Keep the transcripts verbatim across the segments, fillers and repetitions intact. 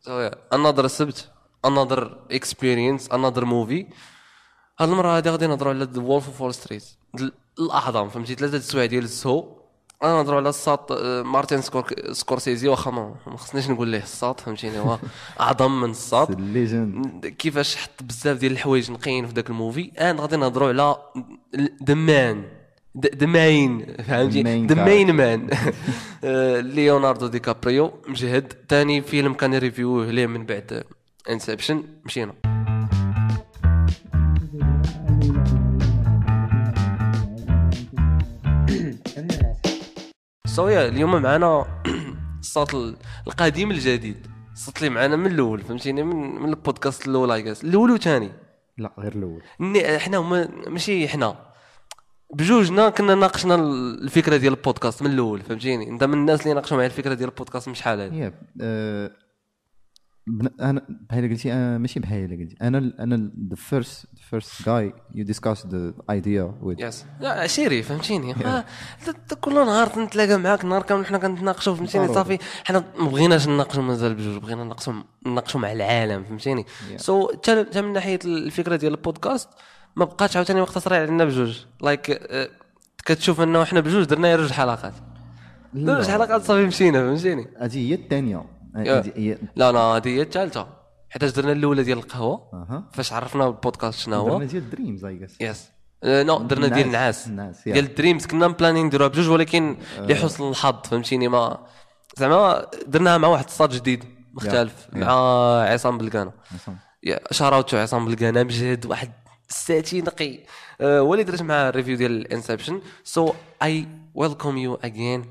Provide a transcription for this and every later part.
another سبت another experience another movie. هاد المره هادي غادي نهضروا على The Wolf of Wall Street الاعظم فهمتي ثلاثه السوايع ديال السو. انا نهضروا على الساط مارتن سكور سكورسيزي واخا ما خصنيش نقول ليه الساط فهمتيني هو اعظم من الساط كيفاش حط بزاف ديال الحوايج نقيين في داك الموفي. انا غادي نهضروا على دمان دماين فهمتي دماين مان ليوناردو دي كابريو مجهد. ثاني فيلم كان ريفيوه ليه من بعد انسبشن مشينا. سويا اليوم معنا الصوت القديم الجديد الصوت اللي معنا من الاول فهمتيني من من البودكاست الاول ايغاس الاول وثاني لا غير الاول. احنا هما ماشي احنا بجوجنا كنا ناقشنا الفكره ديال البودكاست من الاول فهمتيني. انت من الناس اللي ناقشوا معايا الفكره ديال البودكاست مش حال هذه. أه انا بحال قلتي أه ماشي بحال قلتي انا انا the first the first guy you discussed the idea with يس لا عشيري فهمتيني. yeah. كل نهار نتلاقى معاك نهار كامل حنا كنتناقشوا فهمتيني صافي حنا ما بغيناش نناقشوا مازال بجوج بغينا نناقشوا نناقشوا مع العالم فهمتيني. سو yeah. so, من ناحيه الفكره ديال البودكاست ما بقاتش عاوتاني مقتصره علينا بجوج لايك like, uh, كتشوف انه احنا بجوج درنا جوج حلقات جوج حلقات صافي مشينا فهمتيني. هذه هي الثانيه لا لا هذه هي الثالثه حيت درنا الاولى ديال القهوه أه. فاش عرفنا البودكاست شنو هو درنا ديال دريمز اي جاس يس نو درنا ديال النعاس ديال الدريمز كنا بلانين نديروها بجوج ولكن لحسن الحظ فهمتيني ما زعما درناها مع واحد الصاد جديد مختلف yeah. مع عصام بلقانه يا شاراوتو عصام بلقانه مجهد واحد ساتي نقي أه ولي درت مع الريفيو ديال الانسبشن. سو اي ويلكم يو اجين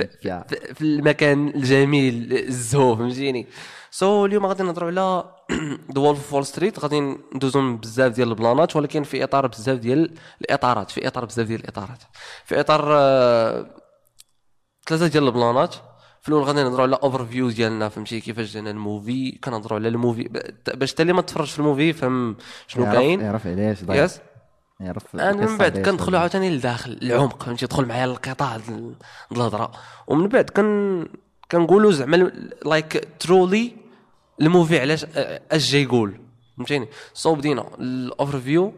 في المكان الجميل الزهو فهمتيني. سو so, اليوم غادي نهضروا على ذا وولف اوف وول ستريت. غادي ندوزو بزاف ديال البلانات ولكن في اطار بزاف ديال الاطارات في اطار بزاف ديال الاطارات في اطار uh, ثلاثه ديال البلانات. في الاول غادي نهضروا على اوفر فيو ديالنا فهمتي كيفاش جانا الموفي. كنهضروا على الموفي باش حتى اللي ما تفرجش في الموفي فهم شنو كاين يعرف علاش ضايع yes. يعرف. انا من بعد كندخلوا عاوتاني لداخل العمق فهمتي تدخل معايا القطاع ديال الهضره ومن بعد كن كنقولوا زعما لايك ترولي الموفي علاش اش جاي يقول فهمتيني. سو بدينا الاوفر فيو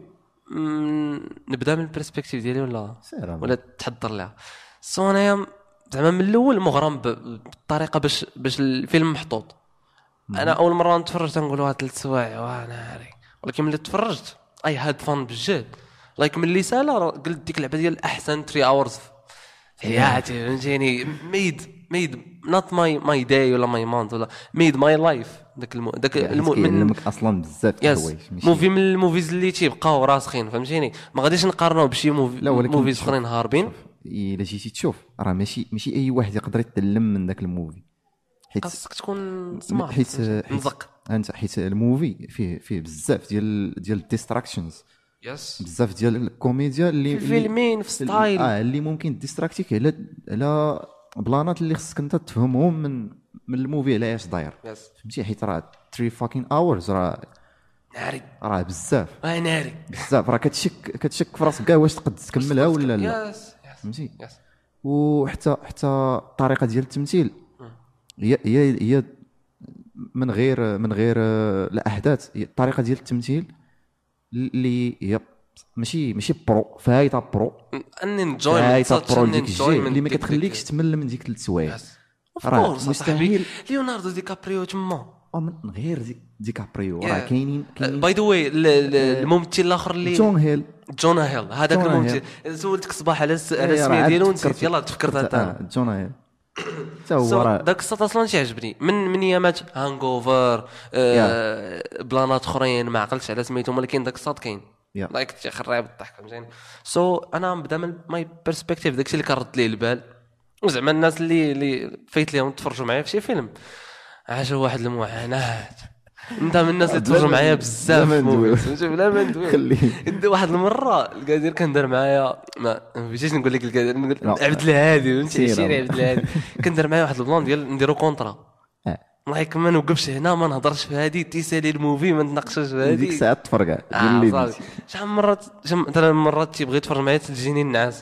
نبدا من البرسبكتيف ديالي ولا ولا تحضر لها. سو انايا زعما من الاول مغرم بالطريقه باش باش الفيلم محطوط. انا اول مره نتفرج تنقولوا ثلاث سوايع وانا عاري ولكن ملي تفرجت اي هاد فان بجد لايك من اللي سالا قلت ديك اللعبه ديال احسن ثلاثة اورز في حياتي فهمتيني. ميد ميد نوت ماي ماي داي ولا ماي مانث ولا ميد ماي لايف. داك الم... داك المؤمن اصلا بزاف الحوايج موفي من الموفيز اللي تيبقاو راسخين فهمتيني. ما غاديش نقارنوه بشي موفي موفيز اخرين هاربين. الا جيتي تشوف راه ماشي ماشي اي واحد يقدر يتعلم من داك الموفي حيت خاصك تكون سمارت حيت نزق انت حيت الموفي فيه فيه بزاف ديال ديال الديستراكشنز يس بزاف ديال الكوميديا اللي في فيلمين في ستايل اه اللي ممكن ديستراكتيك على على بلانات اللي خصك انت تفهمهم من من الموفي على اش داير فهمتي. حيت راه ثلاثة فاكين اورز راه ناري راه بزاف اه ناري بزاف راه كتشك كتشك في راسك كاع واش تقد تكملها ولا لا فهمتي. وحتى حتى الطريقه ديال التمثيل هي هي هي من غير من غير الاحداث الطريقه ديال التمثيل اللي هي ماشي ماشي برو فايته برو ان انجويمنت اللي ما كتخليكش تمل من ديك ثلاث سوايع. راه مستحيل ليوناردو دي كابريو تما من غير دي دي كابريو راه كاينين باي ذا واي الممثل الاخر اللي جون هيل جون هيل هذاك الممثل سولتك صباح على على السميه ديالو ونسيت يلاه تفكرت انت جون هيل تا هو راه داك الصوت اصلا تيعجبني من من ايامات هانغوفر آه بلانات اخرين ما عقلتش على سميتهم ولكن داك الصوت كاين لايك تخرب بالضحك فهمتيني. سو انا نبدا من ماي بيرسبكتيف داكشي اللي كرد ليه البال وزعما الناس اللي اللي فايت ليهم تفرجوا معايا في شي فيلم عاشوا واحد المعاناه. انت من الناس اللي تفرجوا معايا بزاف فهمتي بلا ما ندوي خليه واحد المره القادر كان دار معايا ما بغيتش نقول لك القادر نقول عبد الهادي فهمتي شي عبد الهادي كان دار معايا واحد البلان ديال نديرو كونطرا لايك ما نوقفش هنا ما نهضرش في هذه تيسالي الموفي ما نتناقشش في هذه ديك الساعه تفرقع قال لي شحال مرات مثلا مرات تيبغي يتفرج معايا تجيني النعاس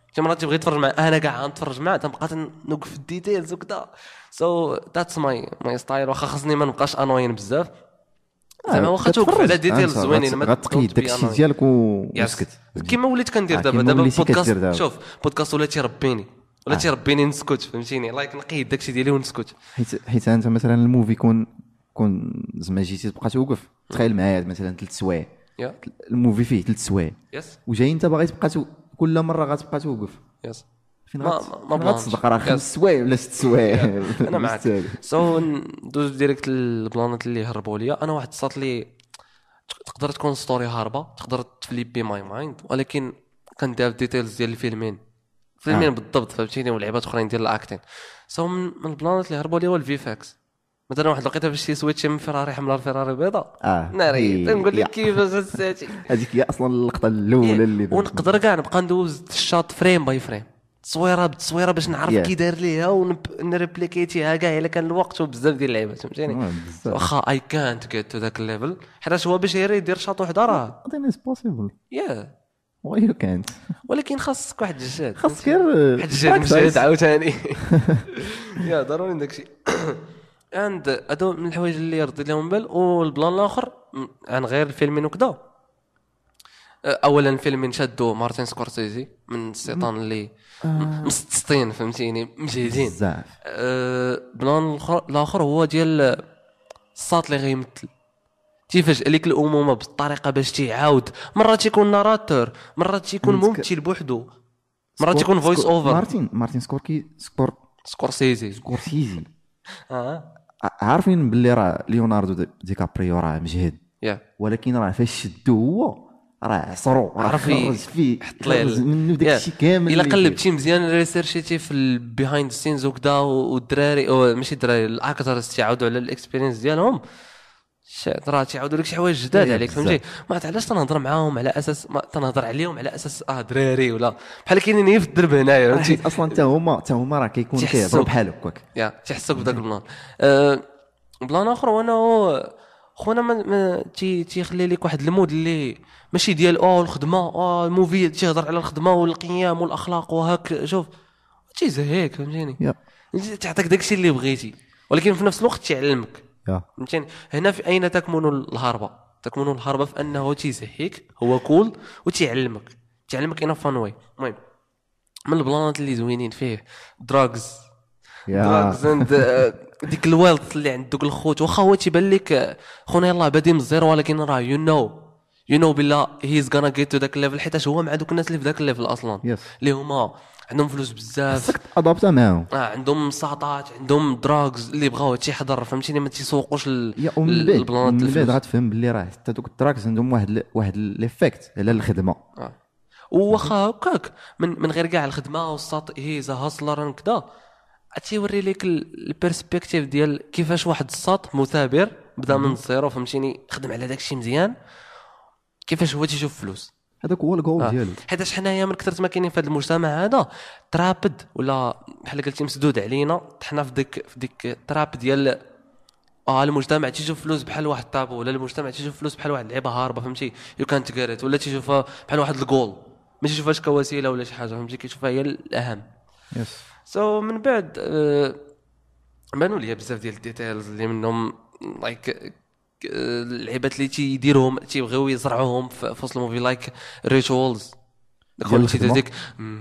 شي مرات تبغي تفرج مع انا كاع نتفرج معاه تنبقى نوقف في الديتيلز وكذا سو ذاتس ماي ماي ستايل واخا خاصني ما نبقاش انوين بزاف زعما واخا توقف على ديتيلز زوينين ما غتقيد داكشي ديالك وسكت كيما وليت كندير دابا دابا بودكاست شوف بودكاست ولا تيربيني ولا تيربيني نسكت فهمتيني لايك نقيد داكشي ديالي ونسكت حيت حيت انت مثلا الموفي كون كون زعما جيتي تبقى توقف تخيل معايا مثلا ثلاث سوايع الموفي فيه ثلاث سوايع وجاي انت باغي تبقى كل مره غتبقى توقف يس فين ما ما غتصدق راه خمس سوايع ولا ست سوايع انا معك سو ندوز ديريكت البلانات اللي هربوا ليا انا واحد صات لي تقدر تكون ستوري هاربه تقدر تفليبي ماي مايند ولكن كندير ديتيلز ديال الفيلمين فيلمين آه. بالضبط فهمتيني ولعبات اخرين ديال الاكتين سو من البلانات اللي هربوا لي هو الفي فاكس مثلا واحد لقيتها باش شي سويتش من فيراري حمراء لفيراري بيضاء اه ناري تنقول لك كيفاش هادشي هذيك هي اصلا اللقطه الاولى اللي ونقدر كاع نبقى ندوز الشاط فريم باي فريم تصويره بالتصويره باش نعرف كي داير ليها ونريبليكيتيها كاع الا كان الوقت وبزاف ديال اللعيبات فهمتيني واخا اي كانت جيت تو ذاك الليفل حيت هو باش يدير شاط وحده راه اتس بوسيبل يا واي يو كانت ولكن خاصك واحد الجهد خاصك غير واحد الجهد مجهد عاوتاني يا ضروري داكشي عند هادو من الحوايج اللي رديت لهم بال والبلان الاخر عن غير الفيلمين وكذا اولا الفيلمين شادو مارتن سكورسيزي من السيطان اللي مسطين فهمتيني مجهدين بزاف أه بلان الاخر هو ديال الصاط اللي غيمثل كيفاش عليك الامومه بالطريقه باش تيعاود مرات تيكون ناراتور مرات تيكون ممثل بوحدو مرات تيكون فويس اوفر مارتن مارتن سكوركي سكور سكورسيزي سكورسيزي اه عارفين باللي راه ليوناردو دي كابريو راه مجهد yeah. ولكن راه فاش شدو هو راه عصرو راه خرج فيه حط ليه منه داكشي كامل الا قلبتي مزيان ريسيرشيتي في البيهايند سينز وكذا والدراري او ماشي الدراري الاكترز تيعاودوا على الاكسبيرينس ديالهم راه تيعاودوا لك شي حوايج جداد عليك فهمتي ما علاش تنهضر معاهم على اساس ما تنهضر عليهم على اساس اه دراري ولا بحال كاينين في الدرب هنايا فهمتي اصلا حتى هما حتى هما راه كيكونوا كيهضروا بحال هكاك يا تيحسوك بداك البلان أه بلان اخر وانا خونا ما تي تيخلي لك واحد المود اللي ماشي ديال اه الخدمه اه الموفي تيهضر على الخدمه والقيم والاخلاق وهاك شوف تيزهيك فهمتيني تعطيك داكشي اللي بغيتي ولكن في نفس الوقت تيعلمك فهمتيني هنا في اين تكمن الهربه تكمن الهربه في انه تيزهيك هو كول وتيعلمك تعلمك انا فان واي المهم من البلانات اللي زوينين فيه دراغز دراغز اند ديك الويلث اللي عند دوك الخوت واخا هو تيبان لك خونا يلاه بادي من الزيرو ولكن راه يو نو يو نو بالله هيز غانا جيت تو داك الليفل حيت هو مع دوك الناس اللي في داك الليفل اصلا اللي هما عندهم فلوس بزاف خصك ادابتا معاهم اه عندهم ساطات عندهم دراغز اللي بغاو تيحضر فهمتيني ما تيسوقوش البلانات من بعد غتفهم باللي راه حتى دوك الدراغز عندهم واحد ل... واحد ليفيكت على الخدمه اه واخا هكاك من من غير كاع الخدمه والساط هيز هاسلر كذا تيوري لك البيرسبكتيف ديال كيفاش واحد الساط مثابر بدا من الزيرو فهمتيني خدم على داكشي مزيان كيفاش هو تيشوف فلوس هذاك هو الجول آه. ديالو حيت حنايا من كثرت ما كاينين في هذا المجتمع هذا ترابد ولا بحال قلتي مسدود علينا حنا في ديك في ديك التراب ديال اه المجتمع تيشوف فلوس بحال واحد طابو ولا المجتمع تيشوف فلوس بحال واحد لعيبه هاربه فهمتي يو كانت كاريت ولا تيشوفها بحال واحد الجول ما تيشوفهاش كوسيله ولا شي حاجه فهمتي كيشوفها هي الاهم يس سو so, من بعد آه بانوا لي بزاف ديال الديتيلز اللي منهم لايك اللعيبات اللي تيديروهم تيبغيو يزرعوهم في وسط الموفي لايك ريتوالز داك ديك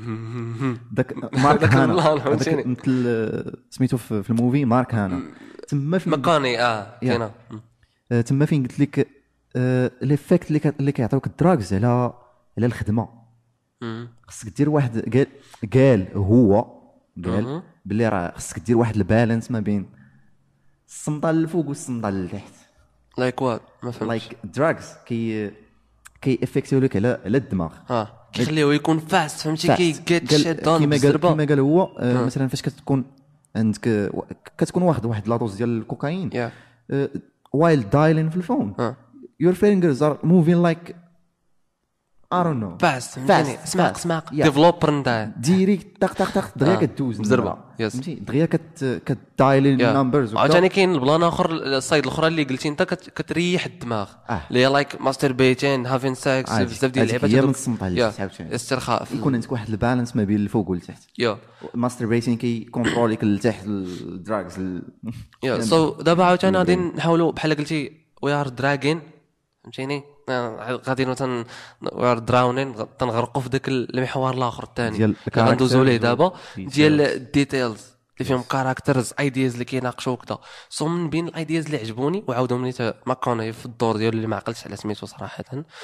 داك مارك هانا مثل سميتو في الموفي مارك هانا تما في مكاني اه كاينه تما فين قلت لك ليفيكت اللي اللي كيعطيوك الدراغز على على الخدمه خصك دير واحد قال قال هو قال باللي راه خصك دير واحد البالانس ما بين الصمطه للفوق والصمطه لتحت لايك وات ما فهمتش لايك دراغز كي كي افكتيو لك على على الدماغ اه كيخليه يكون فاست فهمتي كي جيت شيت داون كما قال كما قال هو آه مثلا فاش كتكون عندك كتكون واحد واحد لاطوز ديال الكوكايين وايل دايلين في الفون يور فينجرز ار موفين لايك ارون نو باس فهمتيني سماق سماق ديفلوبر نتاع ديريكت طق طق طق دغيا كدوز بزربه فهمتي دغيا كت كدايلي النمبرز. عاوتاني كاين البلان اخر السايد الاخرى اللي قلتي انت كتريح الدماغ اللي هي لايك ماستر بيتين هافين ساكس بزاف ديال اللعيبات هي من الصمت على عاوتاني استرخاء يكون عندك واحد البالانس ما بين الفوق والتحت. يا ماستر بيتين كي كونتروليك لتحت الدراغز يا سو دابا عاوتاني غادي نحاولوا بحال قلتي وي ار دراغين فهمتيني غادي نتن وير دراونين تنغرقوا في داك المحور الاخر الثاني غندوزو ليه دابا ديال الديتيلز اللي فيهم كاركترز ايدياز اللي كيناقشوا كذا. سو من بين الايدياز اللي عجبوني وعاودهم لي ماكوني في الدور ديالو اللي ما عقلتش على سميتو صراحه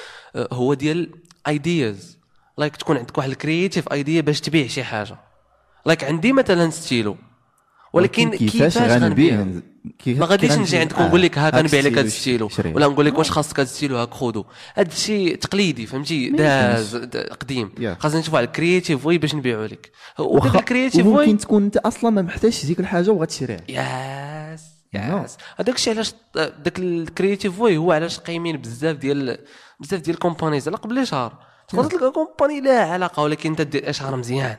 هو ديال ايدياز لايك تكون عندك واحد الكرييتيف ايديا باش تبيع شي حاجه لايك عندي مثلا ستيلو ولكن كيفاش غنبيع ما غاديش نجي عندك ونقول لك ها كنبيع لك هذا الستيلو ولا نقول لك واش خاصك هذا الستيلو هاك خذو. هذا الشيء تقليدي فهمتي داز قديم خاصنا نشوفوا على الكرييتيف واي باش نبيعوا لك وداك الكرييتيف واي ممكن تكون انت اصلا ما محتاجش ديك الحاجه وغتشريها. ياس ياس هذاك الشيء علاش داك الكرييتيف واي هو علاش قايمين بزاف ديال بزاف ديال الكومبانيز على قبل شهر تقدر تلقى كومباني لا علاقه ولكن انت دير اشهار مزيان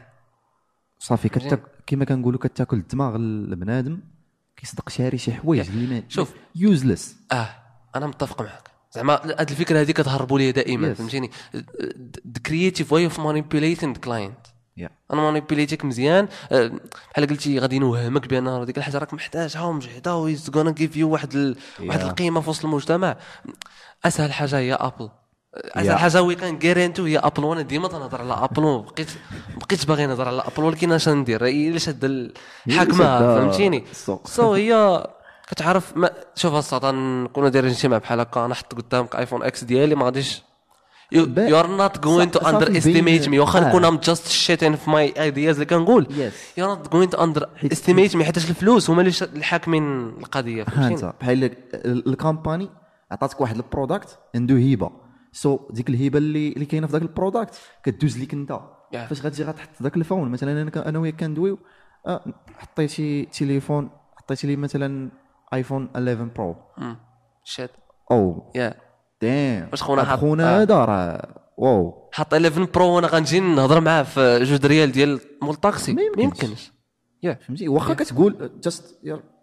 صافي كتاكل كما كنقولوا كتاكل الدماغ البنادم كيصدق شاري شي حوايج اللي ما شوف يوزلس. اه انا متفق معك زعما هاد الفكره هذه كتهربوا ليا دائما yes. فهمتيني the creative way of manipulating the client yeah. انا مانيبيليتيك مزيان بحال قلتي غادي نوهمك بان ديك الحاجه راك محتاجها ومجهده ويز غانا جيف يو واحد ال... yeah. واحد القيمه في وسط المجتمع. اسهل حاجه هي ابل اسهل yeah. حاجه وي كان غيرانتو هي ابل. وانا ديما تنهضر على ابل وبقيت بقيت باغي نهضر على ابل ولكن اش ندير الا شاد الحاكمه فهمتيني. سو هي كتعرف ما شوف الصاد نكونوا دايرين شي مع بحال هكا نحط قدامك ايفون اكس ديالي ما غاديش you you're not going to underestimate me واخا نكون I'm just shitting في my ideas اللي كنقول yes. you're not going to underestimate me حيت الفلوس هما اللي الحاكمين القضيه فهمتي بحال الكومباني عطاتك واحد البرودكت عنده هبه سو so, ديك الهبه اللي اللي كاينه في داك البرودكت كدوز ليك انت yeah. فاش غتجي غتحط داك الفون مثلا انا انا وياك كندويو أه حطيتي تليفون حطيتي لي مثلا ايفون إحدى عشر برو شات او يا دام واش خونا خونا هذا راه واو حط إحدى عشر برو وانا غنجي نهضر معاه في جوج ريال ديال مول الطاكسي ما يمكنش يا فهمتي واخا كتقول جاست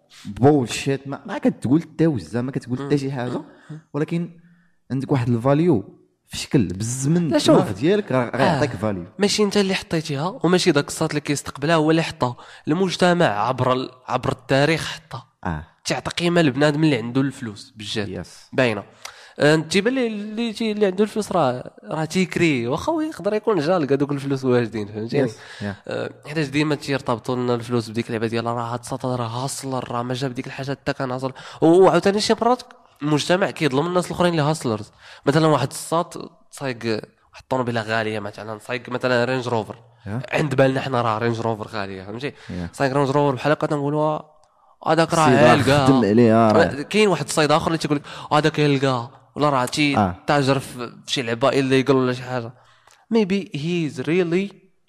بولشيت ما كتقول حتى وزه ما كتقول حتى شي حاجه ولكن عندك واحد الفاليو في شكل بالزمن الدماغ ديالك غيعطيك آه. فاليو ماشي انت اللي حطيتيها وماشي داك الصوت اللي كيستقبلها هو اللي حطها المجتمع عبر ال... عبر التاريخ حطها اه تعطي قيمه لبنادم اللي عنده الفلوس بالجد yes. باينه انت باللي اللي تي اللي عنده الفلوس راه راه تيكري واخا يقدر يكون جال هذوك الفلوس واجدين فهمتيني حيت yes. yeah. ديما تيرتبطوا لنا الفلوس بديك اللعبه ديال راه هاد السطر راه هاسلر راه ما جاب ديك الحاجه حتى كان هاسل وعاوتاني شي مرات المجتمع كيظلم الناس الاخرين اللي هاسلرز مثلا واحد الساط صايق واحد الطوموبيله غاليه مثلا صايق مثلا رينج روفر yeah. عند بالنا حنا راه رينج روفر غاليه فهمتي yeah. صايق رينج روفر بحال هكا تنقولوا هذاك راه هالكا خدم عليه كاين واحد الصيد اخر اللي تيقول لك هذاك هالكا ولا راه تي آه. تاجر في شي لعبه الا يقول ولا شي حاجه maybe he's really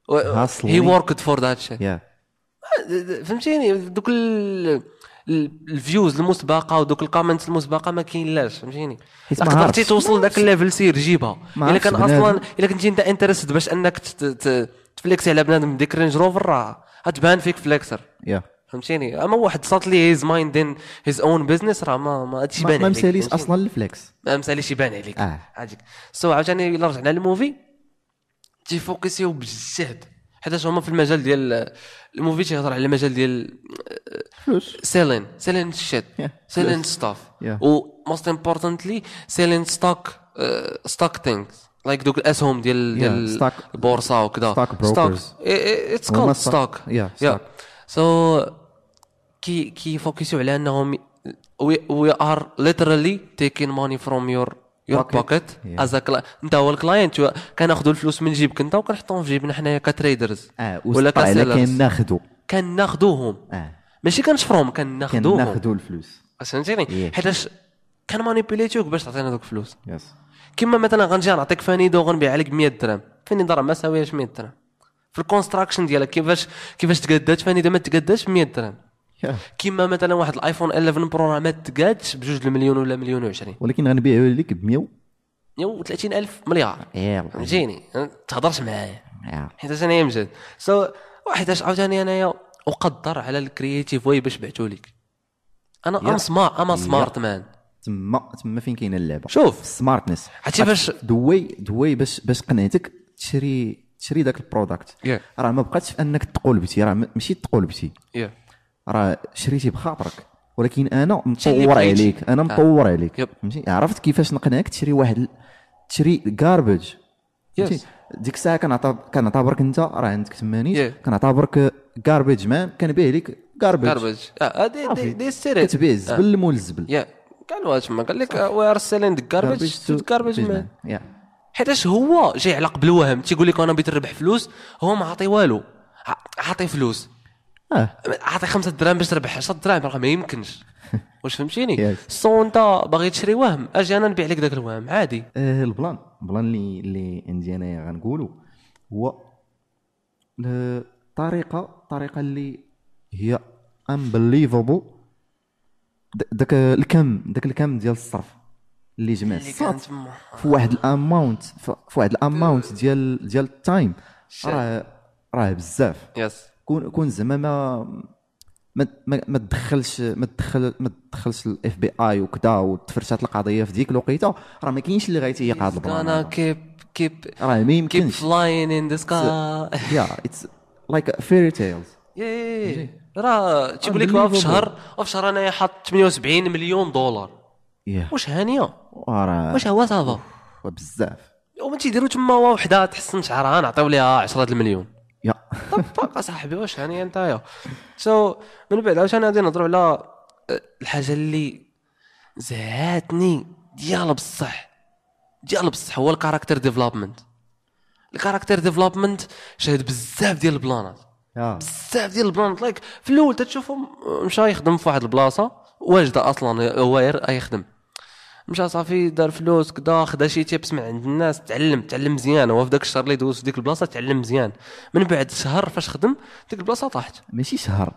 he worked for that shit yeah. فهمتيني دوك الفيوز المسبقه ودوك الكومنتس المسبقه ما كاين لاش فهمتيني قدرتي توصل داك الليفل سير جيبها الا كان اصلا الا كنتي انت انترست باش انك تفليكسي على بنادم ديك رينج روفر راه غتبان فيك فليكسر yeah. فهمتيني اما واحد صات لي هيز مايند ان هيز اون بزنس راه ما ما هادشي بان عليك ما مساليش اصلا الفليكس ما مساليش يبان عليك اه هذيك سو عاوتاني الا رجعنا للموفي تيفوكسيو بالجهد حيت هما في المجال ديال الموفي تيهضر على المجال ديال فلوس سيلين سيلين شيت سيلين ستاف و موست امبورطانتلي سيلين ستوك ستوك ثينكس لايك دوك الاسهم ديال ديال البورصه وكذا ستوك اتس كولد ستوك يا سو كي كي فوكسوا على انهم وي ار ليترالي تيكين ماني فروم يور يور بوكيت از انت هو الكلاينت كناخذوا الفلوس من جيبك انت وكنحطوهم في جيبنا حنايا كتريدرز اه ولا كناخذوا كناخذوهم اه ماشي كنشفروهم كناخذوهم كناخذوا الفلوس فهمتيني حيتاش كان مانيبيليتيوك باش تعطينا دوك الفلوس يس كيما مثلا غنجي نعطيك فانيدو غنبيع عليك ب مية درهم فانيدو راه ما ساوياش مية درهم في الكونستراكشن ديالك كيفاش كيفاش تقادات فانيدو ما تقاداش ب مية درهم كيما مثلا واحد الايفون إحدى عشر برو راه ما تقادش بجوج المليون ولا مليون وعشرين ولكن غنبيعوا لك ب مية مية وثلاثين ألف مليار يلا فهمتيني تهضرش معايا يلا حيت انا يمجد سو واحد اش عاوتاني انايا اقدر على الكرييتيف واي باش بعثوا لك انا ام سمارت ام سمارت مان تما تما فين كاينه اللعبه شوف السمارتنس عرفتي باش دوي دوي باش باش قنعتك تشري تشري داك البروداكت yeah. راه ما بقاتش في انك تقولبتي راه ماشي تقولبتي yeah. راه شريتي بخاطرك ولكن انا مطور عليك انا مطور عليك yep. فهمتي عرفت كيفاش نقنعك تشري واحد تشري غاربيج yes. ديك الساعه كنعتبر كنعتبرك انت راه عندك ثمانين yeah. كنعتبرك غاربيج مان كنبيع لك غاربيج غاربيج اه دي دي ستيريت كتبيع الزبل مول الزبل يا قال واش ما قال لك وي ار سيلينغ غاربيج تو غاربيج مان حيتاش هو جاي على قبل وهم تيقول لك انا بغيت نربح فلوس هو ما عطي والو عطي فلوس اه عطي خمسة دراهم باش تربح عشرة دراهم راه ما يمكنش واش فهمتيني yes. سو انت باغي تشري وهم اجي انا نبيع لك داك الوهم عادي. آه البلان البلان اللي اللي عندي انايا غنقولوا هو الطريقه الطريقه اللي هي unbelievable داك الكم داك الكم ديال الصرف اللي جمع الصات في واحد الاماونت في واحد الاماونت ديال ديال التايم راه راه بزاف يس كون كون زعما ما ما ما تدخلش ما تدخل ما تدخلش الاف بي اي وكذا وتفرشات القضيه في ديك الوقيته راه ما كاينش اللي غيتيق هذا البلان انا كيب كيب راه ما يمكنش كيب فلاين ان ذا سكاي يا اتس لايك فيري تيلز يا راه تيقول لك في شهر في شهر انايا حاط ثمانية وسبعين مليون دولار واش هانيه واش هو صافا بزاف وما تيديروا تما وحده تحسن شعرها نعطيو ليها عشرة المليون يا طب صاحبي واش هانيه نتايا سو من بعد عاوتاني غادي نهضروا على الحاجه اللي زهاتني ديال بصح ديال بصح هو الكاركتر ديفلوبمنت الكاركتر ديفلوبمنت شاهد بزاف ديال البلانات بزاف ديال البلانات لايك في الاول تتشوفو مشى يخدم في واحد البلاصه واجده اصلا هو غير يخدم مشى صافي دار فلوس كدا خدا شي تيبس من عند الناس تعلم تعلم مزيان هو في داك الشهر اللي دوز في ديك البلاصه تعلم مزيان من بعد شهر فاش خدم ديك البلاصه طاحت ماشي شهر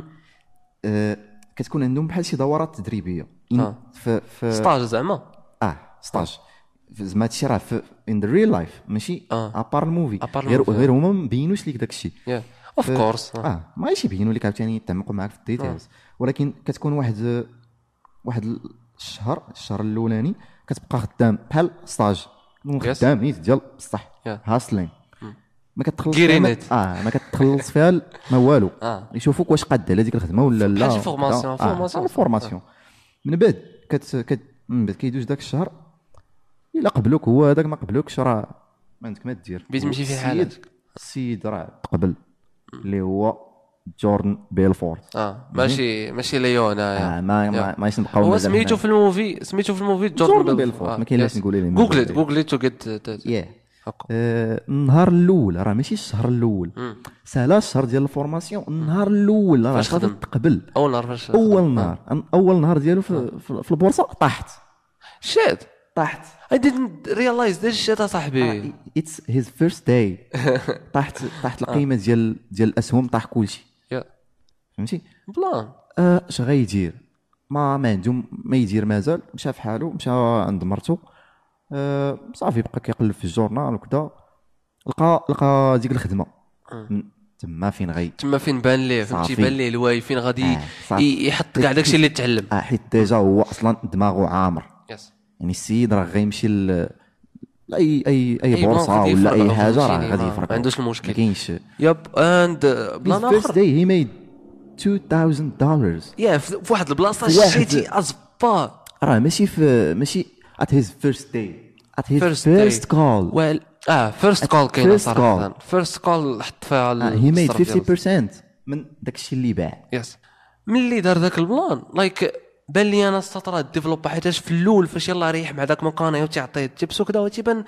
أه كتكون عندهم بحال شي دورات تدريبيه آه. في في ستاج زعما اه ستاج زعما هادشي راه في ان ذا ريل لايف ماشي ابار الموفي غير غير هما ما مبينوش ليك داكشي اوف كورس اه ماشي يبينوا لك عاوتاني يتعمقوا معاك في الديتيلز ولكن كتكون واحد واحد الشهر الشهر الاولاني كتبقى خدام بحال ستاج خدام نيت ديال بصح هاسلين ما كتخلص اه ما كتخلص فيها ما والو آه. يشوفوك واش قاد على ديك الخدمه ولا لا بحال فورماسيون فورماسيون فورماسيون من بعد كت كت من بعد كيدوز داك الشهر الا قبلوك هو هذاك ما قبلوكش راه ما عندك ما دير بغيت تمشي في حالك السيد راه تقبل اللي هو جوردن بيلفورت اه ماشي ماشي ليون اه ما ما ماشي نبقاو هو سميتو في الموفي سميتو في الموفي جوردن بيلفورت آه. ما كاين لاش نقول ليه جوجل جوجل تو جيت ياه النهار الاول راه ماشي الشهر الاول سالا الشهر ديال الفورماسيون النهار الاول راه غادي تقبل اول نهار فاش اول نهار اول نهار ديالو في, في البورصه طاحت شات طاحت I didn't realize this shit صاحبي it's his first day طاحت طاحت القيمه ديال ديال الاسهم طاح كلشي فهمتي بلان اش غيدير ما ما عندهم ما يدير مازال مشى في حاله مشى عند مرته أه صافي بقى كيقلب في الجورنال وكذا لقى لقى ديك الخدمه تما فين غي تما فين بان ليه فهمتي بان ليه الواي فين غادي آه يحط كاع داكشي اللي تعلم اه حيت ديجا هو اصلا دماغه عامر يس يعني السيد راه غيمشي ل اي اي اي بورصه ولا اي حاجه راه غادي يفرق ما عندوش المشكل ما كاينش يب اند بلان اخر first day he made two thousand dollars يا في واحد البلاصه شتي ازبا راه ماشي في ماشي at his first day at his first, first call well اه فيرست كول كاين صراحه فيرست كول حط فيها he made fifty percent من داكشي اللي باع يس ملي دار داك البلان لايك بان لي انا السطر ديفلوب حيتاش في الاول فاش يلاه ريح مع داك مكانه وتعطيه تيبس وكذا وتيبان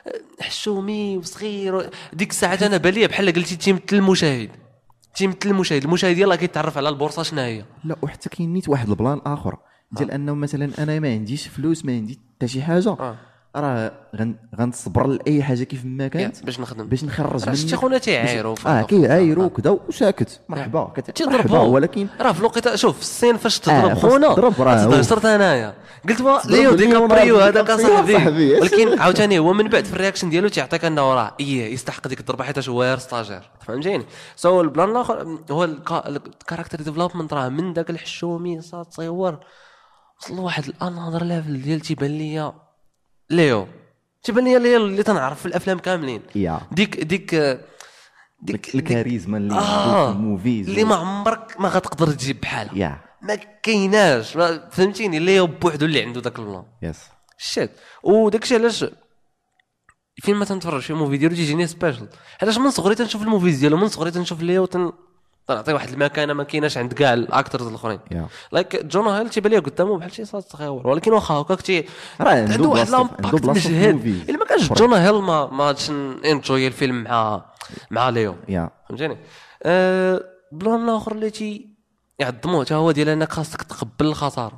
حشومي وصغير ديك الساعه انا بان لي بحال قلتي تيمثل المشاهد تيمثل المشاهد المشاهد يلاه كيتعرف على البورصه شنو هي لا وحتى كاين نيت واحد البلان اخر ديال انه مثلا انا ما عنديش فلوس ما عندي حتى شي حاجه آه. راه غنصبر لاي حاجه كيف ما كانت باش نخدم باش نخرج منك. شتي خونا تيعايروا اه كيعايروا كذا وساكت مرحبا كتضربوا. ولكن راه في الوقت شوف الصين فاش تضرب آه خونا تهجرت انايا قلت وا ليو ديكابريو هذاك صاحبي، ولكن عاوتاني هو من بعد في الرياكشن ديالو تيعطيك انه راه ايه يستحق ديك الضربه حيت هو غير ستاجير فهمتيني. سو البلان الاخر هو الكاركتر ديفلوبمنت راه من داك الحشومي صار تصور وصل لواحد الانذر ليفل ديال تيبان ليا ليو تيبان ليا ليو اللي تنعرف في الافلام كاملين ديك ديك ديك الكاريزما اللي آه في الموفيز اللي ما عمرك ما غتقدر تجيب بحالها yeah. ما كايناش فهمتيني ليو بوحدو اللي عنده داك البلان يس شات وداكشي علاش فين ما تنتفرج في موفي ديالو تيجيني سبيشال حيت من صغري تنشوف الموفيز ديالو من صغري تنشوف ليو تن تعطي واحد المكانه ما كايناش عند كاع الاكترز الاخرين لايك yeah. جون هيل تيبان ليه قدامه بحال شي صاد صغيور ولكن واخا هكاك تي عنده واحد لامباكت مجهد الا ما كانش جون هيل ما ما غاديش انجوي الفيلم مع مع ليو yeah. فهمتيني أه بلان الاخر اللي تي يعظموه حتى هو ديال انك خاصك تقبل الخساره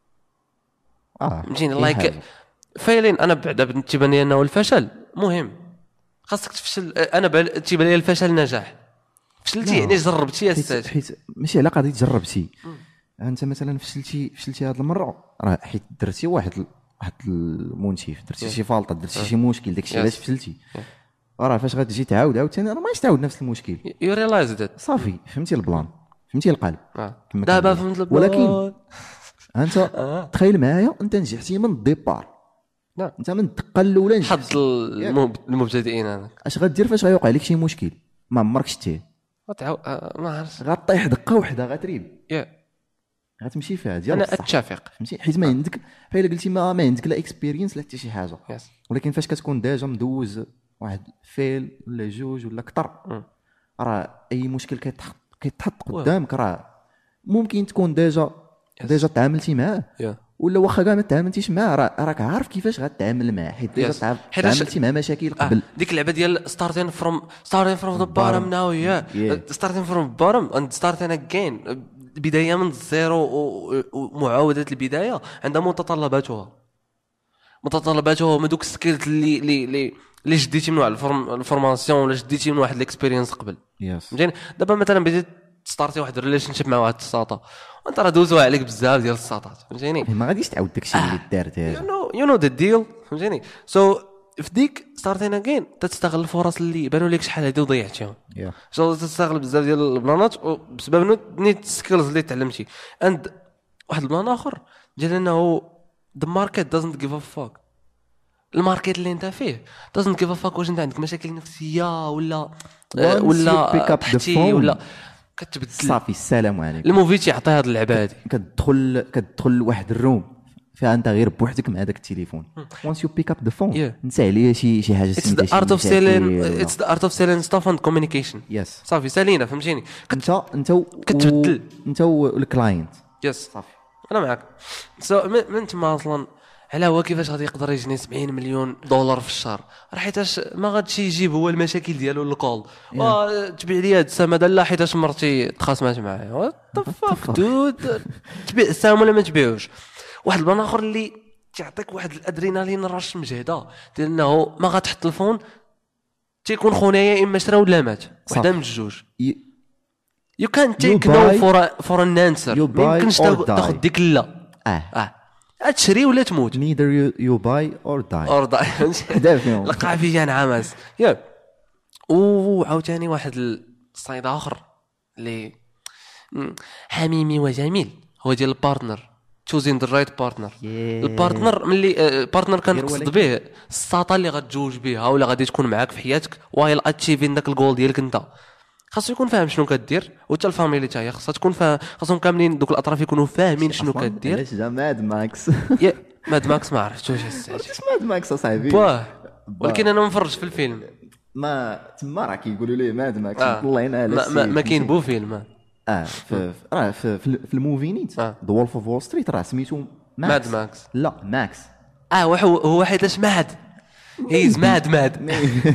اه فهمتيني لايك فايلين انا بعدا تيبان لي انه الفشل مهم خاصك تفشل انا تيبان لي الفشل نجاح فشلتي يعني جربتي يا استاذ حيت ماشي على قضيه جربتي انت مثلا فشلتي فشلتي هذه المره راه حيت درتي واحد واحد المونتيف درتي شي فالطه درتي شي مشكل داكشي علاش فشلتي راه فاش غتجي تعاود عاوتاني راه ماش تعاود نفس المشكل يو ريلايز ذات صافي فهمتي البلان فهمتي القلب دابا فهمت البلان ولكن انت تخيل معايا انت نجحتي من الديبار نعم انت من الدقه الاولى نجحت حظ المبتدئين هذاك اش غدير فاش غيوقع لك شي مشكل ما عمرك شتيه غتعاود ما عرفتش غطيح دقه وحده غتريب يا غتمشي فيها ديال انا اتفق فهمتي حيت ما عندك بحال قلتي ما, ما عندك لا اكسبيرينس لا حتى شي حاجه yes. ولكن فاش كتكون ديجا مدوز واحد فيل ولا جوج ولا اكثر راه اي مشكل كيتحط كيتحط قدامك راه ممكن تكون ديجا yes. ديجا تعاملتي معاه yeah. ولا واخا كاع ما تعاملتي معاه راك عارف كيفاش غتعامل معاه حيت ديجا yes. تعاملتي مع مشاكل قبل آه. ديك اللعبه ديال ستارتين فروم ستارتين فروم ذا بارم ناو يا ستارتين فروم بارم اند ستارتين اجين بدايه من الزيرو ومعاوده البدايه عندها متطلباتها متطلباتها هما دوك السكيلز اللي اللي اللي اللي جديتي من واحد الفورماسيون ولا جديتي من واحد الاكسبيرينس قبل فهمتيني دابا مثلا بديت ستارتي واحد الريليشن شيب مع واحد الساطه وانت راه دوزوا عليك بزاف ديال الساطات فهمتيني ما غاديش تعاود داكشي اللي دارت هذا يو نو يو نو ذا ديل فهمتيني سو في ديك ستارتين اجين تستغل الفرص اللي بانوا لك شحال هادي وضيعتيهم ان شاء الله تستغل بزاف ديال البلانات بسبب نيت سكيلز اللي تعلمتي اند واحد البلان اخر ديال انه the market doesn't give a fuck الماركت اللي انت فيه doesn't give a fuck واش انت عندك مشاكل نفسيه ولا ولا تحتي ولا كتبدل صافي السلام عليكم الموفي تيعطي هاد اللعبه هادي كتدخل كتدخل لواحد الروم فيها انت غير بوحدك مع داك التليفون once you pick up the phone نسى عليا شي شي حاجه سميتها it's the art of selling it's the art of selling stuff and communication yes صافي سالينا فهمتيني انت انت كتبدل انت والكلاينت يس صافي انا معاك سو من تما اصلا على هو كيفاش غادي يقدر يجني سبعين مليون دولار في الشهر راه حيتاش ما غاديش يجيب هو المشاكل ديالو للكول تبيع لي هاد السماده لا حيتاش مرتي تخاصمات معايا وات ذا فاك دود تبيع السهم ولا ما تبيعوش واحد البلان اخر اللي تعطيك واحد الادرينالين رش مجهده ديال انه ما غتحط الفون تيكون خونايا اما شرا ولا مات وحده من الجوج يو كان تيك نو فور فور ان انسر يمكنش تاخذ ديك لا اه اه تشري ولا تموت neither you buy or die or die لقى فيا نعمس يا وعاوتاني واحد الصيد اخر اللي حميمي وجميل هو ديال البارتنر choosing the right partner البارتنر ملي البارتنر كنقصد به الساطه اللي غتجوج بها ولا غادي تكون معاك في حياتك وايل اتشيفين داك الجول ديالك انت خاصو يكون فاهم شنو كدير وحتى الفاميلي حتى هي خاصها تكون فاهم خاصهم كاملين دوك الاطراف يكونوا فاهمين شنو كدير علاش جا ماد ماكس يا ماد ماكس ما عرفتوش علاش ماد ماكس اصاحبي باه ولكن انا مفرج في الفيلم ما تما راه كيقولوا ليه ماد ماكس والله انا ما, ما, ما كاين بو فيلم اه في راه في, في, في الموفي نيت ذا وولف اوف وول ستريت راه سميتو ماد ماكس لا ماكس اه هو هو حيتاش ماد هيز ماد ماد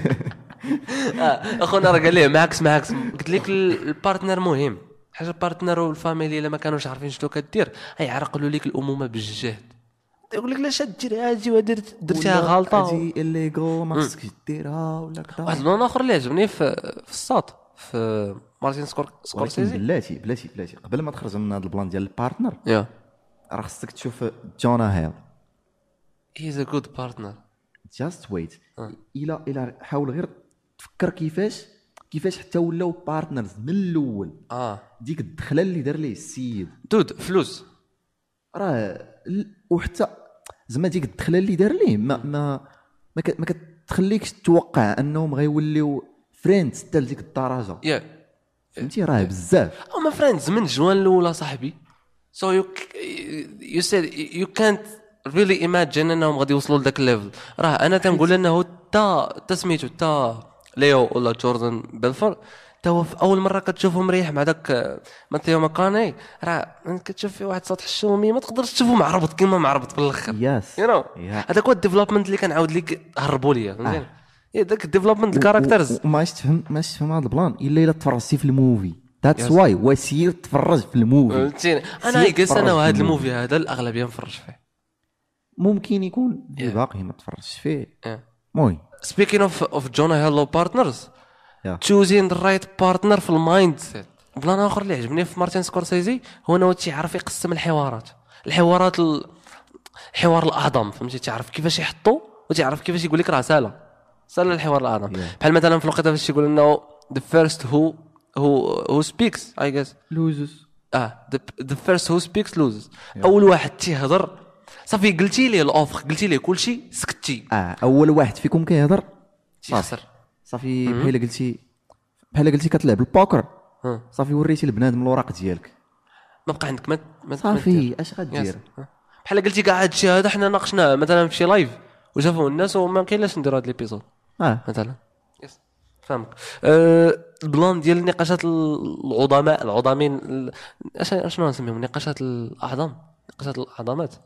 اخونا راه قال ليه ماكس ماكس قلت لك البارتنر مهم حاجه البارتنر والفاميلي الا ما كانوش عارفين شنو كدير غيعرقلوا لك الامومه بالجهد يقول لك لا شاد دير هادي ودرت درتيها غلطه هادي الليغو ما خصكش ديرها ولا كذا. واحد اللون اخر اللي عجبني في في الساط في مارتين سكور سكورسيزي بلاتي بلاتي بلاتي قبل ما تخرج من هذا البلان ديال البارتنر يا راه خصك تشوف جونا هيل. هيز ا جود بارتنر. جاست ويت الى الى حاول غير تفكر كيفاش كيفاش حتى ولاو بارتنرز من الاول. اه ديك الدخله اللي دار ليه السيد دود فلوس راه وحتى زعما ديك الدخله اللي دار ليه ما ما ما, ك... ما كتخليكش تتوقع انهم غيوليو فريندز حتى لديك الدرجه. يا فهمتي راه بزاف هما فريندز من جوان الاولى صاحبي. سو يو يو سيد يو كانت really imagine انهم غادي يوصلوا لذاك الليفل. راه انا تنقول انه تا تسميتو تا ليو ولا جوردن بيلفور تا هو في اول مره كتشوفه مريح مع داك ماتيو ماكاني راه كتشوف فيه واحد سطح الشومي ما تقدرش تشوفه معربط كيما معربط في الاخر. يس يو نو هذاك هو الديفلوبمنت اللي كنعاود لك هربوا ليا فهمتي. اي داك الديفلوبمنت الكاركترز وما تفهم ما تفهم هذا البلان الا الا تفرجتي في الموفي. ذاتس واي وسير تفرج في الموفي. فهمتيني انا يقص انا وهذا الموفي هذا الاغلبيه نفرج فيه. ممكن يكون yeah. باقي ما تفرجش فيه. المهم سبيكين اوف اوف جونا هيلو بارتنرز تشوزين ذا رايت بارتنر في المايند سيت. بلان اخر اللي عجبني في مارتين سكورسيزي هو انه تيعرف يقسم الحوارات الحوارات الحوار الاعظم فهمتي. تعرف كيفاش يحطو وتعرف كيفاش يقول لك راه ساله ساله الحوار الاعظم. yeah. بحال مثلا في الوقت فاش يقول انه the first who who who speaks I guess loses. اه the, the first who speaks loses. yeah. اول واحد تيهضر صافي قلتي ليه الاوفر قلتي ليه كلشي سكتي. اه اول واحد فيكم كيهضر تيخسر صافي. بحال قلتي بحال قلتي كتلعب البوكر صافي وريتي البنادم الوراق ديالك ما بقى عندك ما, ما صافي اش غدير. بحال قلتي كاع هادشي هذا حنا ناقشناه مثلا في شي لايف وشافوه الناس وما كاينلاش نديروا هذا ليبيزود اه مثلا. يس فهمك. أه البلان ديال النقاشات العظماء العظامين اش شنو نسميهم نقاشات الاعظم نقاشات الاعظمات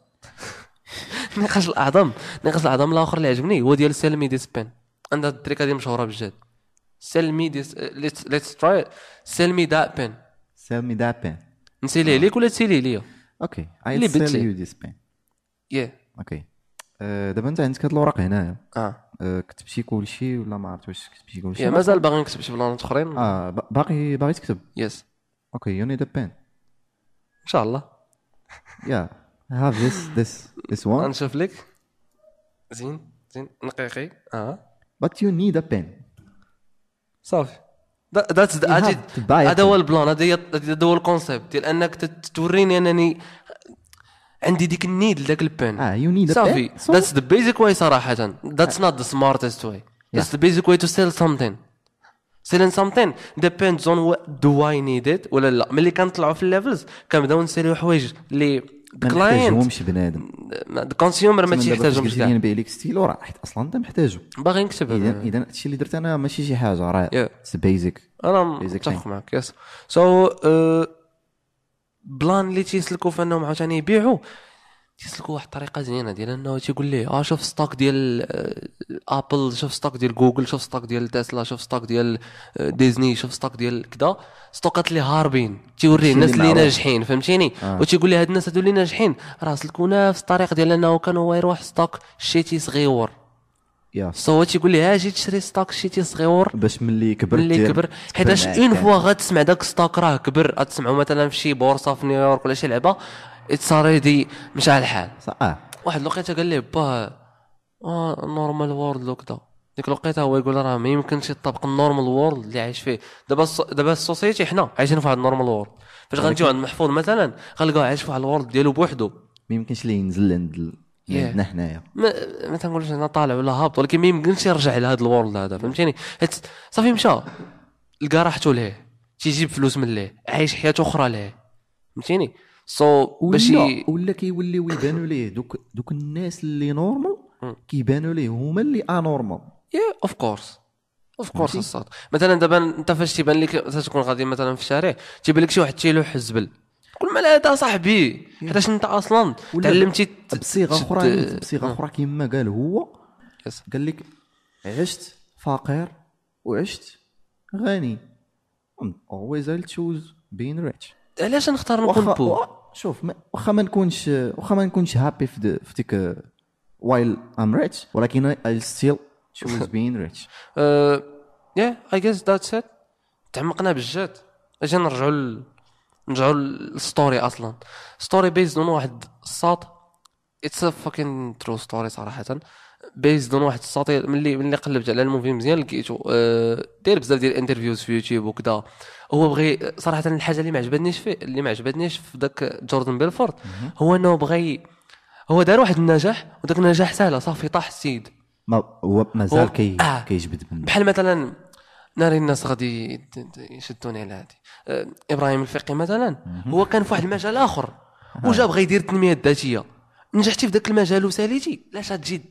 نقاش الاعظم نقاش الاعظم الاخر اللي عجبني هو ديال سيلمي دي سبين. عندها التريكه دي مشهوره بجد. سيلمي دي ليتس ليتس تراي سيلمي ذات بين سيلمي ذات بين نسيلي ليك ولا تسيلي ليا. اوكي اي سيل يو دي سبين. يا اوكي دابا انت عندك هاد الوراق هنايا. اه كتبتي كلشي ولا ما عرفت واش كتبتي كلشي؟ يا مازال باغي نكتب شي بلانات اخرين. اه باقي باغي تكتب. يس اوكي يو نيد ا بين ان شاء الله. يا have this this this one. نشوف لك زين زين نقيقي اه but you need a pen. صافي ذاتس هذا هو البلان هذا هذا هو الكونسيبت ديال انك توريني انني عندي ديك النيد لذاك البين. اه you need a صافي pen. that's the basic way صراحه. that's not the smartest way. that's the basic way to sell something. selling something depends on what do I need it ولا لا. ملي كنطلعوا في الليفلز كنبداو نسيريو حوايج اللي ما نحتاجهمش بنادم. الكونسيومر ما تيحتاجهمش كاع. نبيع لك ستيلو راه حيت اصلا انت محتاجو باغي نكتب. اذا اذا هادشي اللي درت انا ماشي شي حاجه راه بيزيك. انا متفق معك. يس سو بلان اللي تيسلكوا في انهم عاوتاني يبيعوا تيسلكوا واحد الطريقه زينه ديال انه تيقول ليه اه شوف ستوك ديال ابل شوف ستوك ديال جوجل شوف ستوك ديال تسلا شوف ستوك ديال ديزني شوف ستوك ديال كذا ستوكات اللي هاربين تيوريه الناس اللي ناجحين فهمتيني. آه. وتيقول لي هاد الناس هادو اللي ناجحين راه سلكوا نفس الطريق ديال انه كانوا يروح ستوك شيتي صغيور. يا سو تيقول لي اجي تشري ستوك شيتي صغيور باش ملي كبر ملي كبر حيتاش اون فوا غتسمع داك ستوك راه كبر غتسمعوا مثلا في شي بورصه في نيويورك ولا شي لعبه اتساريدي مشى الحال. صح. واحد الوقيته قال لي با اه نورمال وورلد وكذا ديك الوقيته هو يقول راه ما يمكنش يطبق النورمال وورلد اللي عايش فيه دابا. دابا السوسيتي حنا عايشين في واحد النورمال وورلد. فاش غنجيو عند محفوظ مثلا غنلقاو عايش في واحد الوورلد ديالو بوحدو ما يمكنش ليه ينزل عند عندنا حنايا. ما, ما تنقولش انا طالع ولا هابط ولكن ما يمكنش يرجع لهذا الوورلد هذا فهمتيني. صافي مشى لقى راحته ليه تيجيب فلوس من ليه عايش حياه اخرى ليه فهمتيني. سو so, باش ولا كيوليو يبانوا ليه دوك دوك الناس اللي نورمال كيبانوا ليه هما اللي انورمال. يا اوف كورس اوف كورس الصاد. مثلا دابا انت فاش تيبان لك تكون غادي مثلا في الشارع تيبان لك شي واحد تيلوح الزبل كل ما هذا صاحبي حيتاش انت اصلا تعلمتي بصيغه اخرى بصيغه اخرى كيما قال هو قال لك عشت فقير وعشت غني always I'll choose being rich. علاش نختار نكون بو شوف واخا ما نكونش واخا ما نكونش هابي في في ديك while I'm rich ولكن I still choose being rich. uh, yeah I guess that's it. تعمقنا بالجد. اجي نرجعوا ل... نرجعوا للستوري اصلا. ستوري بيزد اون واحد الساط. اتس ا فاكين ترو ستوري صراحه. بيزد اون واحد الساط ملي ملي قلبت على الموفي مزيان لقيتو أه... داير بزاف ديال الانترفيوز في يوتيوب وكذا. هو بغي صراحه الحاجه اللي ما عجبتنيش فيه اللي ما عجبتنيش في داك جوردن بيلفورد هو انه بغي هو دار واحد النجاح وداك النجاح سهله صافي طاح السيد. ما هو مازال كي آه. كيجبد منه. بحال مثلا ناري الناس غادي يشدوني على هادي أه ابراهيم الفقي مثلا هو كان في واحد المجال اخر وجا بغى يدير التنميه الذاتيه. نجحتي في ذاك المجال وساليتي لا شاد تجي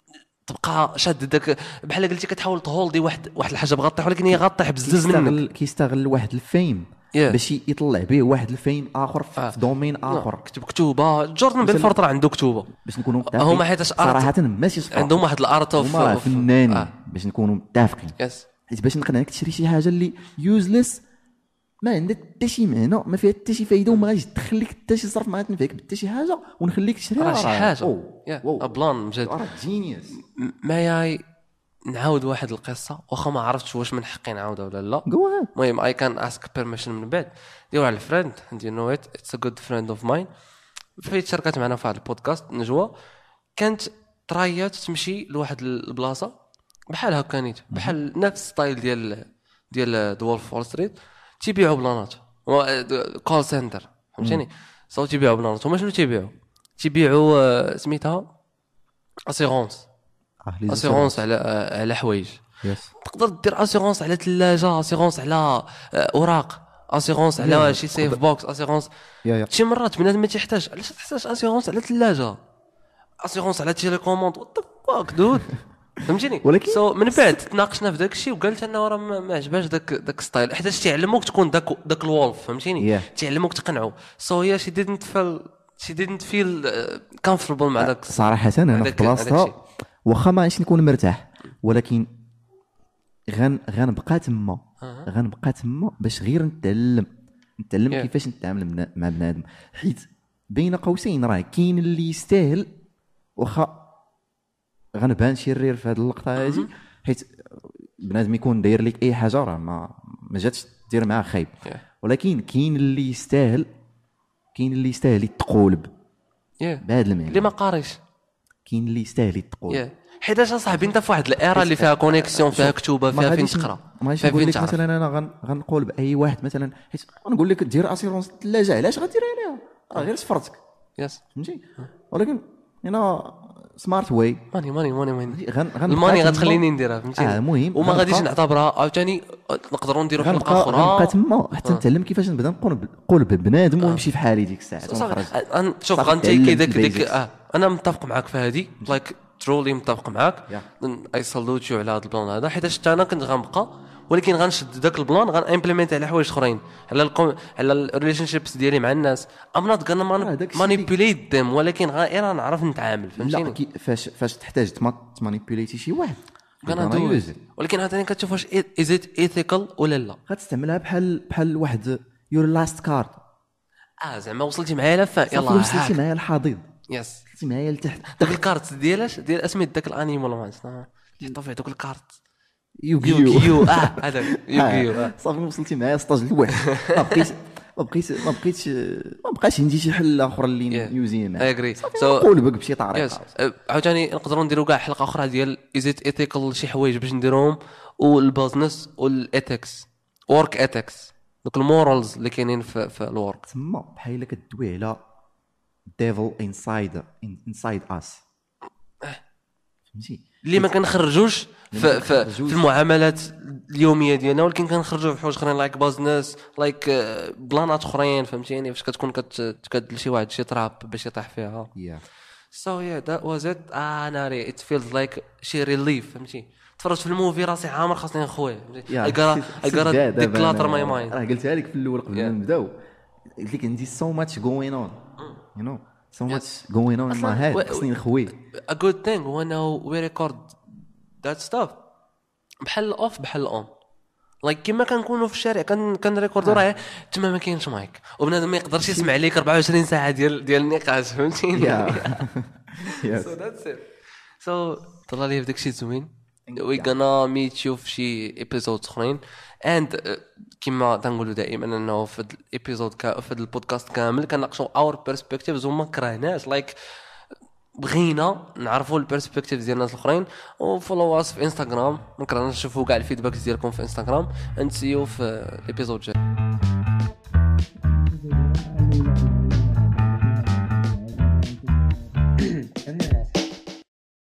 تبقى شاد داك بحال قلتي كتحاول تهولدي واحد واحد الحاجه بغا طيح ولكن هي غطيح بزز منك. كيستغل واحد الفيم yeah. باش يطلع به واحد الفيم اخر في آه. دومين اخر. كتب كتوبه جوردن بيلفورد راه عنده كتوبه باش نكونوا هما حيت صراحه ماشي عندهم واحد الارت اوف فنانين آه. باش نكونوا متفقين yes. حيت باش نقنعك تشري شي حاجه اللي يوزلس ما عندها حتى شي معنى ما فيها حتى شي فايده وما غاديش تدخل لك حتى شي صرف ما غتنفعك حتى شي حاجه ونخليك تشريها راه شي حاجه يا بلان مجد راه جينيوس. ما ياي نعاود واحد القصه واخا ما عرفتش واش من حقي نعاودها ولا لا. المهم اي كان اسك بيرميشن من بعد ديروا على الفريند اند يو نو ات اتس ا جود فريند اوف ماين فايت شاركات معنا في هذا البودكاست نجوى كانت ترايات تمشي لواحد البلاصه بحال هكا نيت بحال نفس ستايل ديال ديال دولف وول ستريت تيبيعوا بلانات كول سنتر فهمتيني صاو تيبيعوا بلانات هما شنو تيبيعوا تيبيعوا سميتها اسيغونس اسيغونس على على حوايج تقدر دير اسيغونس على ثلاجه اسيغونس على اوراق اسيغونس على شي سيف بوكس اسيغونس شي مرات بنادم ما تيحتاج علاش تحتاج اسيغونس على ثلاجه اسيغونس على تيليكوموند وات ذا فاك دود فهمتيني. ولكن سو so, من بعد تناقشنا في داك الشيء وقالت انا راه ما عجباش داك داك ستايل حيت تيعلموك تكون داك داك الولف فهمتيني yeah. تيعلموك تقنعوا سو هي شي didn't feel she didn't feel comfortable مع داك صراحه انا في بلاصتها واخا ما عادش نكون مرتاح ولكن غن غنبقى تما غنبقى تما باش غير نتعلم نتعلم yeah. كيفاش نتعامل مع بنادم حيت بين قوسين راه كاين اللي يستاهل واخا غنبان شرير في هذه اللقطه هذه حيت بنادم يكون داير لك اي حاجه راه ما ما جاتش دير معاه خايب ولكن كاين اللي يستاهل كاين اللي يستاهل يتقولب بهذا المعنى اللي ما قاريش كاين اللي يستاهل يتقولب حيت اش صاحبي انت في واحد الايرا اللي فيها كونيكسيون فيها كتوبه فيها فين تقرا ماشي نقول لك مثلا انا غنقول باي واحد مثلا حيت غنقول لك دير اسيرونس الثلاجه علاش غدير عليها راه غير سفرتك يس فهمتي ولكن انا سمارت واي ماني ماني ماني ماني الماني غتخليني نديرها فهمتي اه مهم وما غاديش نعتبرها عاوتاني نقدروا نديروا حلقه اخرى غنبقى تما حتى نتعلم كيفاش نبدا نقول ببنادم ونمشي في حالي ديك الساعه ونخرج شوف غنتيكي داك ديك اه انا متفق معك في هذه لايك ترولي متفق معك اي سالوت يو على هذا البلان هذا حيت انا كنت غنبقى ولكن غنشد داك البلان غنامبليمنت على حوايج اخرين على القوم على الريليشن شيبس ديالي مع الناس ام نوت غانا مانيبيوليت ديم ولكن غير نعرف نتعامل فهمتيني لا فاش فاش تحتاج تمانيبيوليتي شي واحد غانا دوز ولكن عاوتاني كتشوف واش از ات ايثيكال ولا لا غتستعملها بحال بحال واحد يور لاست كارد اه زعما وصلتي معايا لفا يلاه وصلتي معايا الحضيض يس وصلتي معايا لتحت داك الكارت ديالاش ديال اسمي داك الانيمال مانس حطوا فيه دوك الكارت يوغيو يو اه هذاك يوغيو صافي وصلتي معايا ستاج الواحد ما بقيت ما بقيت ما بقيتش ما بقاش عندي شي حل اخر اللي نيوزي معاه اغري سو نقول بك بشي طريقه عاوتاني نقدروا نديروا كاع حلقه اخرى ديال ازيت ايثيكال شي حوايج باش نديروهم والبيزنس والايثكس ورك ايثكس دوك المورالز اللي كاينين في في الورك تما بحال الا كدوي على ديفل انسايد انسايد اس فهمتي اللي ما كنخرجوش في في, في المعاملات اليوميه ديالنا ولكن كنخرجوا في حوايج اخرين لايك بيزنس لايك بلانات اخرين فهمتيني فاش كتكون كتكدل شي واحد شي تراب باش يطيح فيها سو يا ذات واز ات انا ري ات فيلز لايك شي ريليف فهمتي تفرجت في الموفي راسي عامر خاصني نخوي اي غارا اي غارا ديكلاتر ماي مايند راه قلتها لك في الاول قبل ما نبداو قلت لك عندي سو ماتش جوين اون يو نو so much going on in my head خصني نخوي a good thing when we record that stuff بحال off بحال on لايك كيما كنكونوا في الشارع كان كنريكوردو راه تما ما كاينش مايك وبنادم ما يقدرش يسمع ليك أربعة وعشرين ساعه ديال ديال النقاش فهمتيني. سو ذاتس ات. سو طلع لي بداك الشيء زوين. وي غانا ميت يو في شي ايبيزود اخرين اند كيما تنقولوا دائما انه في الابيزود في البودكاست كامل كنناقشوا اور بيرسبكتيفز وما كرهناش لايك بغينا نعرفوا البيرسبكتيف ديال الناس الاخرين. وفولو اس في انستغرام، ما كرهناش نشوفوا كاع الفيدباك ديالكم في انستغرام. اند سي يو في الابيزود الجاي.